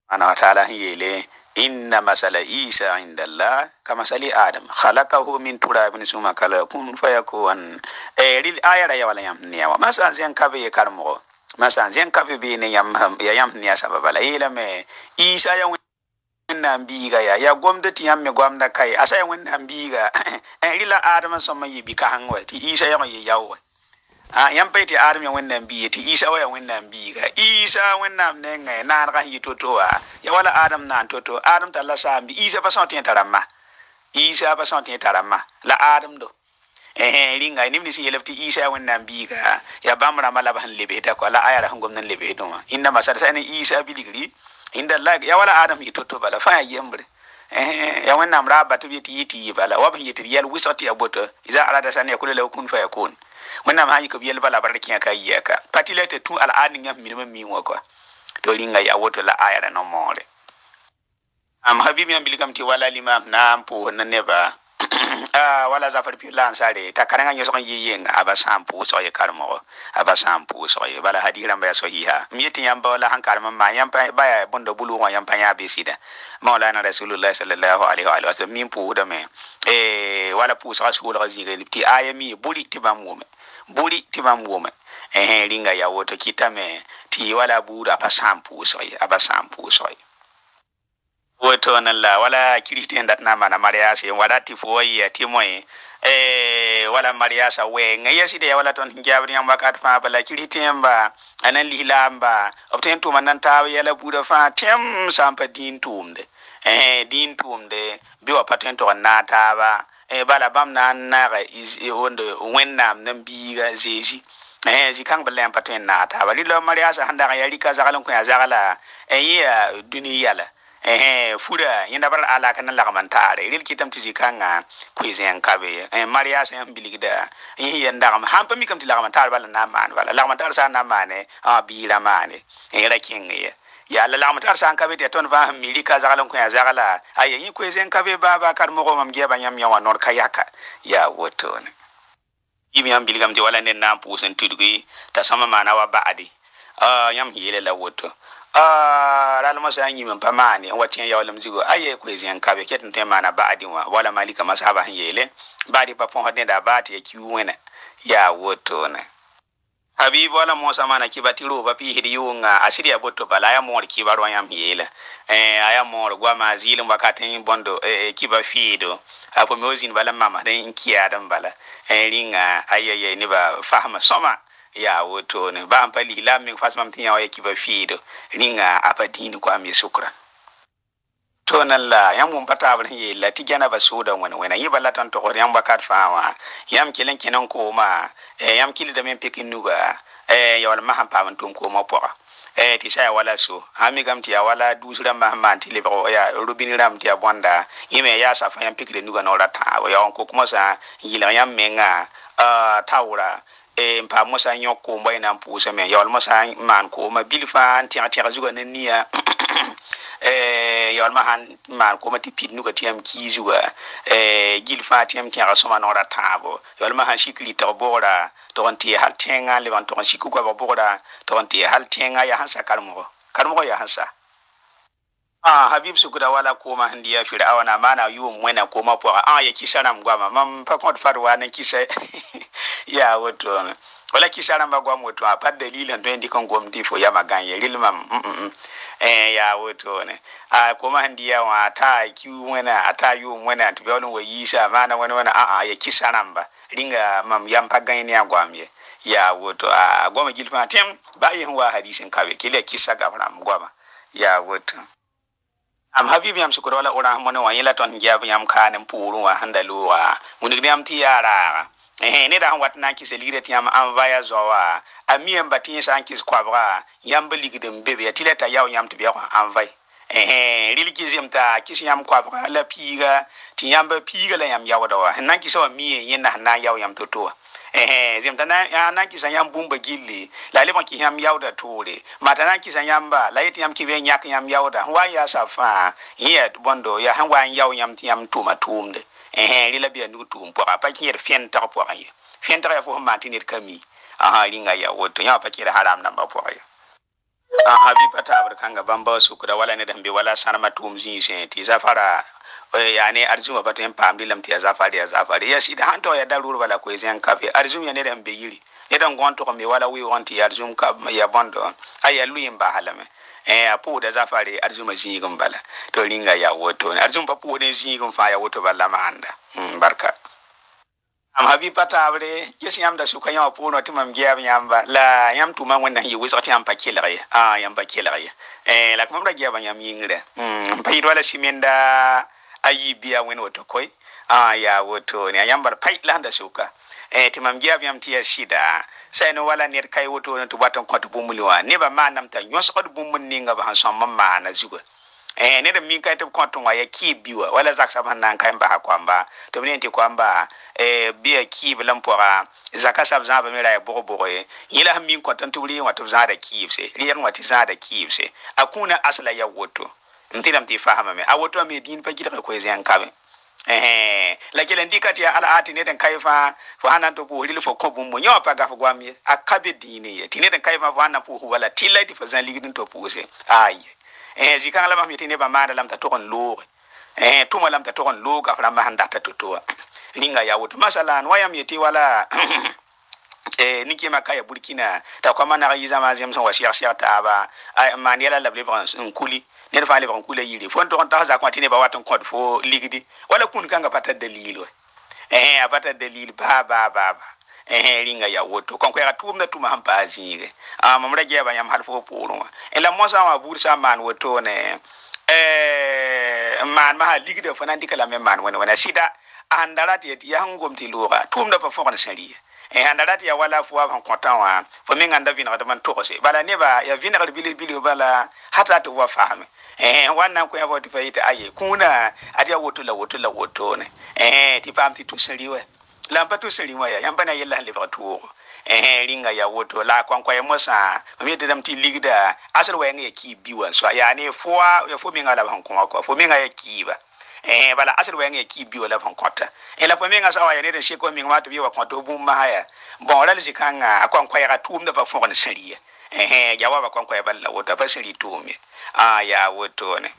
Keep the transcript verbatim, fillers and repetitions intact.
أنا تعالى يلي إن مثل عيسى عند الله كمثل آدم خلقه من تراب ثم قال كن فيكون ريل آية يا ولا يمنيا وما سانزين كابي كارمو ما سانزين كابي بين يم يا يمنيا سبب لا إلى ما عيسى يا wẽnnaam biiga ya ya gomda tɩ yãmb me gomda kaye asa ya wẽnnaam biiga rɩla adama sõma yɩ bi-kãseng wa tɩ isa yag yɩ yao wa yãmb pa tɩ adam ya wẽnnaam biiga tɩ isa wa ya wẽnnaam biiga isa wẽnnaam nengẽ naanegã sẽn yɩ to-to wa ya wala adam naan to-to adam tara la saam bɩ isa pa sõn tɩ yẽ tara ma isa pa sõn tɩ yẽ tara ma la adam do ringa nimni si yelefti isa ya wẽnnaam biiga ya bãmb rãmbã la b sẽn lebsda kɔ la aya ra sẽn gom n lebsdẽ wã ĩnda masal sa ne isa bilgri inda Allah ya wala adam yi toto bala fa yembre eh ya wannan raba to yiti yiti bala wa ban yiti yel wisati aboto iza arada san yakulu law kun fa yakun wannan ma yi ko yel bala barkin ka yaka patilete tu al adin yam minimum mi wako to ringa ya woto la ayara no more am habibi am bilikam ti wala limam nam po na neba ah wala zafar pi lan sare ta karanga nyo son yiyen aba sampu so ye karmo aba sampu so ye bala hadira mba so hiha miyeti yamba wala han karma ma yamba baya bondo bulu wa yamba ya besida maulana rasulullah sallallahu alaihi wa sallam min pu da me eh wala pu so rasul raziga lipti ayami buri tibam wome buri tibam wome eh ringa ya woto kitame ti wala bura pa sampu so ye aba sampu so ye woto nalla wala kiristen dat na mana mariasa wala ti foyi ti moy eh wala mariasa we ngayasi de wala ton jabri am wakat fa bala kiristen ba anan lilamba obten to manan ta yala buda fa tem sampa din tumde eh din tumde bi wa paten to na ta ba eh bala bam nan na ga is wonde wennam nan biga zeji eh ji kan bala paten na ta ba lilo mariasa handa ga yari ka zagalan ko ya zagala eh ya duniya la eh fura yinda bar ala kan lagmantare ril kitam tiji kanga kuizen kabe eh maria sen biligda eh yanda am hampa mi kam ti lagmantare bala na man bala lagmantare sa na mane a bila mane eh rakin ye ya la lagmantare sa kabe te ton va mili ka zagalan ko ya zagala ay yi kuizen kabe baba kar mo ko mam geba nyam yawa nor kayaka ya woto ne yimi am biligam ti wala nen na pusen tudugui ta sama mana wa baadi ah yam hile la woto ah ralma sa nyi men pamani watin yawlam zigo aye ko ezien kabe ketin te mana baadi wa wala malika masaba han yele baadi pa fon hadde da baati e kiwena ya woto ne habib wala mosa mana kibatiro ba pi hidi yunga asiri aboto bala ya mor kibaro yam yele eh aya mor gwa mazilum wakatin bondo eh kiba fido apo mozin bala mama den kiyadan bala eh ringa ayeye ni ba fahma soma ya woto ne ba ampali la min fasmam tin ya kiba fido ringa apadini kwa mi sukran to nan la yam mun pata ba ye la ti gana ba soda wona wona yi balla tan to yam bakat faama yam kilen kinan ko ma e yam kili da men pekin nuga e yawal maham paman tum ko mo pora e ti sa wala so ami gam ti ya wala dusura mahman ti le ba ya rubini ram ti abonda yime ya sa fa yam pekire nuga no rata ya on ko kuma sa yila yam menga a tawra e mpa musa nyoko mboy na mpusa me yawal musa man ko ma bilfa ti ati zuga nenia eh yawal mahan man ko mati pidnu ko tiam kizuga eh gilfa tiam ki asoma no ratabo yawal mahan shikli to bora to onti hal tenga le wan to shiku ko bora to onti hal tenga ya hansa karmo karmo ya hansa ah habib sukuda wala ko ma handiya fir'auna mana yum wena ko ma po ah ya kisaram gwama mam pa ko farwa nan kisa ya woto wala kisaram ba gwam woto a pad dalilan to indi kon gomdi fo ya maganye rilmam mm eh ya woto ne a ko ma handiya wa ta kiwu wena ata yum wena to bewon wa yisa mana wani wani a a ya kisaram ba ringa mam yam paganye ne agwamye ya woto a goma gilfa tem ba yin wa hadisin kawe kile kisa gafram gwama ya woto am habibi am sukuro wala ora mo ne wa yela ton jab yam kanen puru wa handalu wa munigni am ti yara eh ne da watna ki se lire ti am am vaya zowa amiem batin san ki kwabra yam beligdem bebe ya tileta yaw yam to biya am vai eh religizem ta ki yam kwabra la piga ti yam ba piga la yam yaw da wa nan ki so mi yen na na yaw yam to to eh zem tana ya nan ki san yam bumba gilli la le ki yam yaw da tore mata nan ki san yam ba la yeti yam ki be nyak yam yaw da wa ya safa yet bondo ya han wa yaw yam ti yam tuma tumde eh rila biya nu tum po pa ki yer fen ta po ay fen ta ya fo ma tinir kami aha ringa ya woto ya pa ki haram namba po ay a habi pata bar kanga bamba su kuda wala ne dambe wala sanama tum zin sen ti zafara yani arzuma pato en pamdi lam ti zafari ya zafari ya sida hanto ya darur wala ko zen kafe arzum ya ne dambe yiri ne dan gonto ko mi wala wi wonti arzum ka ya bondo aya luyin ba halame eh apu da zafari arzuma zin gum bala to ringa ya woto arzum papu ne zin gum fa ya woto balla ma anda barka am habi patabre kesi yam da suka yawa puno timam giya yamba la yam tuma wannan yi wiso ti am pakila ya ah yam pakila ya eh la kuma giya ban yam yingre mm payi wala simenda ayi biya wen woto koy ah ya woto ne yam bar payi la da suka eh timam giya yam ti shida sai no wala ner kai woto no to baton ko to bumulwa ne ba manam ta nyos ko bumun ninga ba han somma mana zuga eh ne da min kai to konton wa ya ki biwa wala zak saban nan kai ba kwamba to ne ti kwamba eh biya ki bilan pora zaka sab za ba mera ya bogo bogo e yila min konton to ri wa to za da ki se ri yan wati za da ki se akuna asla ya woto ntinam ti fahama me a woto me din pa gida ko zen kabe eh la kelen dikati ala ati ne den kaifa fa hanan to ko hilfo ko bum mo nyo pa ga fa gwami akabe dine ye tine den kaifa fa hanan fu wala tilati fa zan ligidin to puse ay eh zikan la mahmiti ne ba manda lam ta to kon lo eh tuma lam ta to kon lo ga fra ma handa ta to to linga ya woto masalan wayam yeti wala eh niki makaya burkina ta kwa mana yi zama zem son wasiya siya ta ba ay man yala la blibran kuli ne fa le ban kula yiri fon to ta za kwatine ba watan kod fo ligidi wala kun kanga pata dalilo eh apata dalil ba ba ba ba eh linga ya woto kon ko ya tumna tuma hampa azire ah mamra ge ba yam halfo polo ela mosa wa bursa man woto ne eh man ma ligide fo nan dikala men man wona wona sida andarati ya ngomti lura tumna pa fo kon sari e andarati ya wala fo wa kontan wa fo min anda vina da man to se bala ne ba ya vina bili bili bala hata to wa fahame eh wannan ko ya bo ti fayita aye kuna atiya woto la woto la woto ne eh ti pam ti to sari we lampa to sari wa ya yamba na yella le fa to eh ringa ya woto la kwan kwa mosa mi de dam ti ligda asal wa nge ki biwa so ya ne fo ya fo min ala ban ko ko fo min ya ki ba eh bala asir wa nge ki biyo la von kota e la pomenga sawa ya ne de sheko mi ngwa to biwa konto bum ma haya bon la zikanga akwan kwa ya tum da ba fon sariya eh ya wa ba kwan kwa ya balla woto ba sari to mi ah ya woto ne